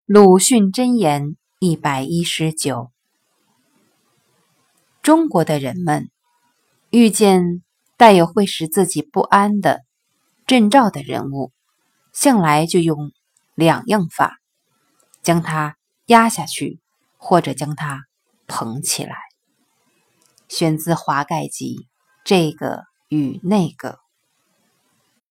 鲁迅箴言119。中国的人们遇见带有会使自己不安的征兆的人物，向来就用两样法，将他压下去，或者将他捧起来。选自《华盖集》这个与那个。